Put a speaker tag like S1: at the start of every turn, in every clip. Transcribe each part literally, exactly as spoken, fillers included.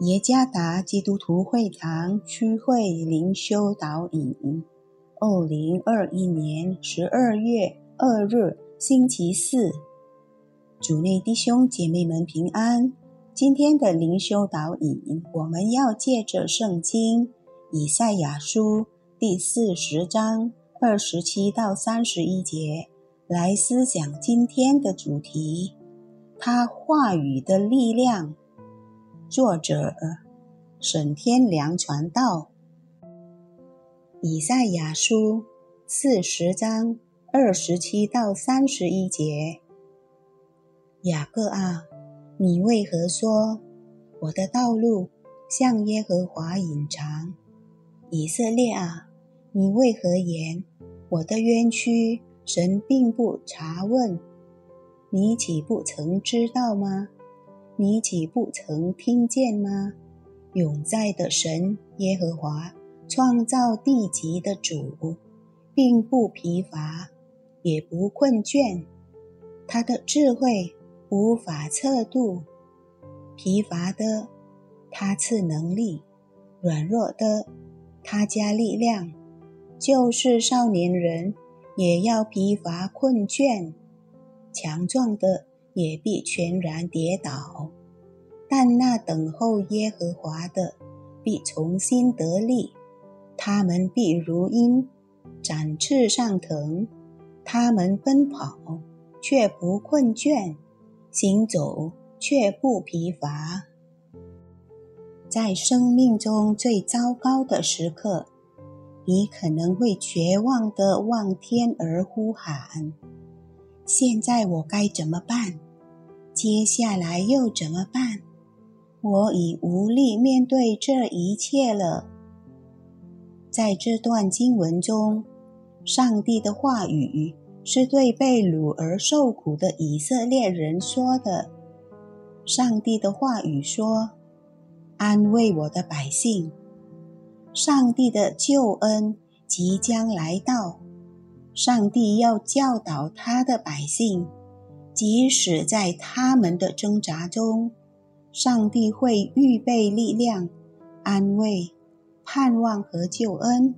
S1: 耶加达基督徒会堂区会灵修导引，二零二一年十二月二日星期四，主内弟兄姐妹们平安。今天的灵修导引，我们要借着圣经以赛亚书第四十章二十七到三十一节来思想今天的主题，他话语的力量。作者沈天良传道。以赛亚书四十章二十七到三十一节，雅各啊，你为何说我的道路向耶和华隐藏？以色列啊，你为何言我的冤屈神并不查问？你岂不曾知道吗？你岂不曾听见吗？永在的神耶和华，创造地极的主，并不疲乏，也不困倦。他的智慧无法测度，疲乏的他赐能力，软弱的他加力量。就是少年人也要疲乏困倦，强壮的也必全然跌倒，但那等候耶和华的必重新得力，他们必如鹰展翅上腾，他们奔跑却不困倦，行走却不疲乏。在生命中最糟糕的时刻，你可能会绝望地望天而呼喊，现在我该怎么办？接下来又怎么办？我已无力面对这一切了。在这段经文中，上帝的话语是对被掳而受苦的以色列人说的。上帝的话语说，安慰我的百姓。上帝的救恩即将来到，上帝要教导他的百姓，即使在他们的挣扎中，上帝会预备力量、安慰、盼望和救恩。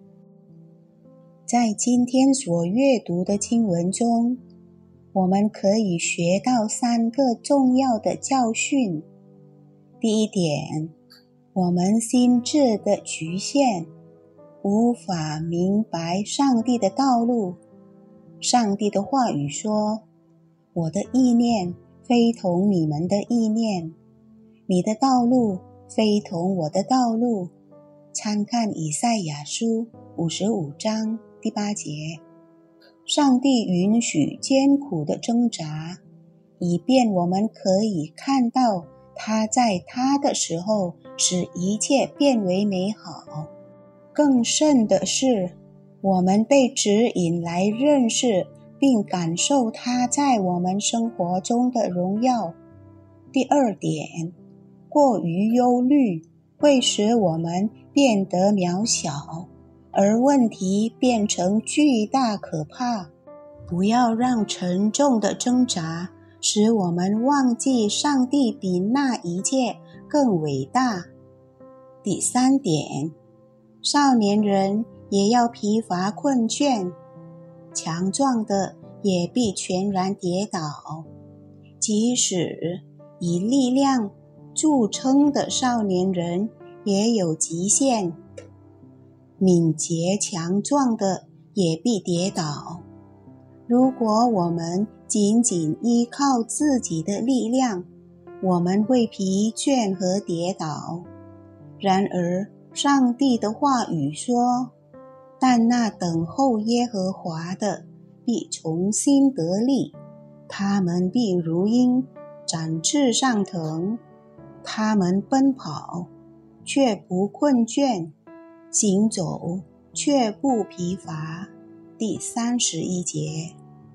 S1: 在今天所阅读的经文中，我们可以学到三个重要的教训。第一点，我们心智的局限，无法明白上帝的道路。上帝的话语说，我的意念非同你们的意念，你的道路非同我的道路。参看以赛亚书五十五章第八节。上帝允许艰苦的挣扎，以便我们可以看到他在他的时候使一切变为美好。更甚的是，我们被指引来认识并感受他在我们生活中的荣耀。第二点，过于忧虑会使我们变得渺小，而问题变成巨大可怕。不要让沉重的挣扎使我们忘记上帝比那一切更伟大。第三点，少年人也要疲乏困倦，强壮的也必全然跌倒。即使以力量著称的少年人也有极限，敏捷强壮的也必跌倒。如果我们仅仅依靠自己的力量，我们会疲倦和跌倒。然而上帝的话语说，但那等候耶和华的必重新得力，他们必如鹰展翅上腾，他们奔跑却不困倦，行走却不疲乏。第三十一节。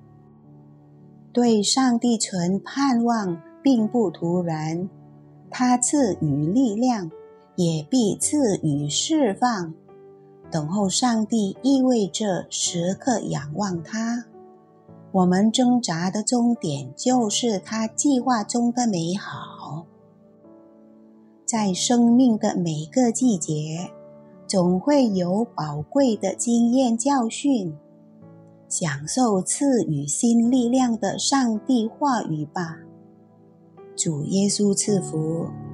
S1: 对上帝存盼望并不突然，他赐予力量，也必赐予释放。等候上帝意味着时刻仰望他。我们挣扎的终点就是他计划中的美好。 在生命的每个季节，总会有宝贵的经验教训，享受赐予新力量的上帝话语吧。主耶稣赐福。